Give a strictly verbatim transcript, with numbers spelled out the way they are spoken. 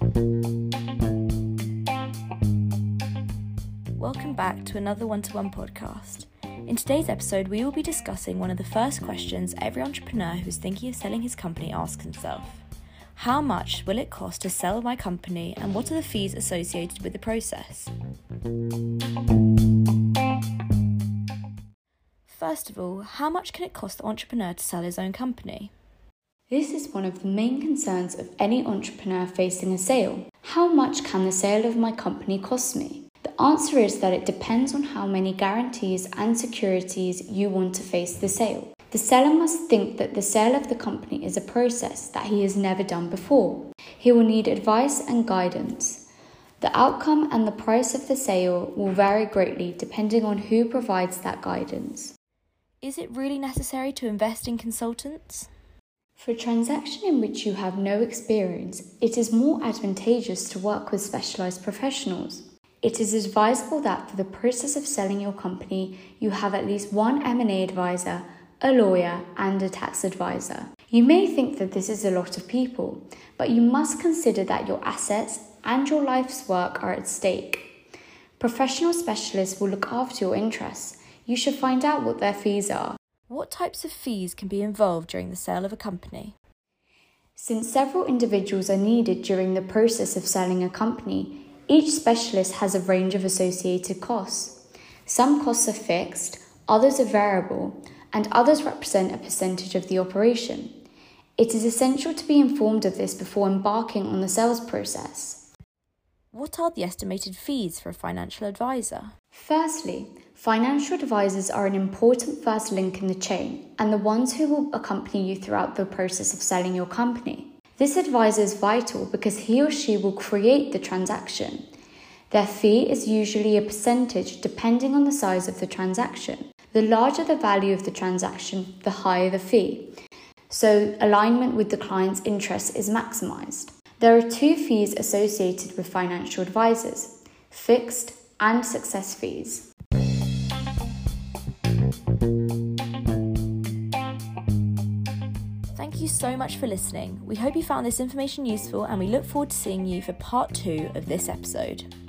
Welcome back to another one-to-one podcast. In today's episode, we will be discussing one of the first questions every entrepreneur who's thinking of selling his company asks himself. How much will it cost to sell my company, and what are the fees associated with the process? First of all, how much can it cost the entrepreneur to sell his own company? This is one of the main concerns of any entrepreneur facing a sale. How much can the sale of my company cost me? The answer is that it depends on how many guarantees and securities you want to face the sale. The seller must think that the sale of the company is a process that he has never done before. He will need advice and guidance. The outcome and the price of the sale will vary greatly depending on who provides that guidance. Is it really necessary to invest in consultants? For a transaction in which you have no experience, it is more advantageous to work with specialised professionals. It is advisable that for the process of selling your company, you have at least one M and A advisor, a lawyer, and a tax advisor. You may think that this is a lot of people, but you must consider that your assets and your life's work are at stake. Professional specialists will look after your interests. You should find out what their fees are. What types of fees can be involved during the sale of a company? Since several individuals are needed during the process of selling a company, each specialist has a range of associated costs. Some costs are fixed, others are variable, and others represent a percentage of the operation. It is essential to be informed of this before embarking on the sales process. What are the estimated fees for a financial advisor? Firstly, financial advisors are an important first link in the chain and the ones who will accompany you throughout the process of selling your company. This advisor is vital because he or she will create the transaction. Their fee is usually a percentage depending on the size of the transaction. The larger the value of the transaction, the higher the fee. So alignment with the client's interests is maximized. There are two fees associated with financial advisors: fixed and success fees. Thank you so much for listening. We hope you found this information useful, and we look forward to seeing you for part two of this episode.